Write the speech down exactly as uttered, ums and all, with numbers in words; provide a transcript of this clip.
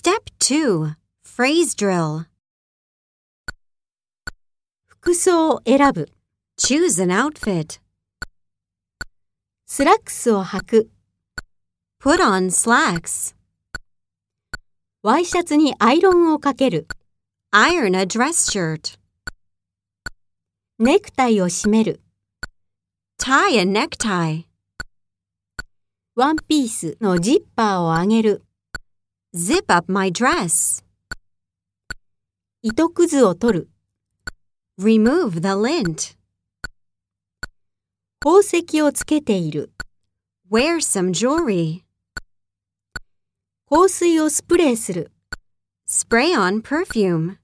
Step two. Phrase drill. 服装を選ぶ。 Choose an outfit. スラックスを履く。 Put on slacks. ワイシャツにアイロンをかける。 Iron a dress shirt. ネクタイを締める。 Tie a necktie. ワンピースのジッパーを上げる。 Zip up my dress. 糸くずを取る。 Remove the lint. 宝石をつけている。 Wear some jewelry. 香水をスプレーする。 Spray on perfume.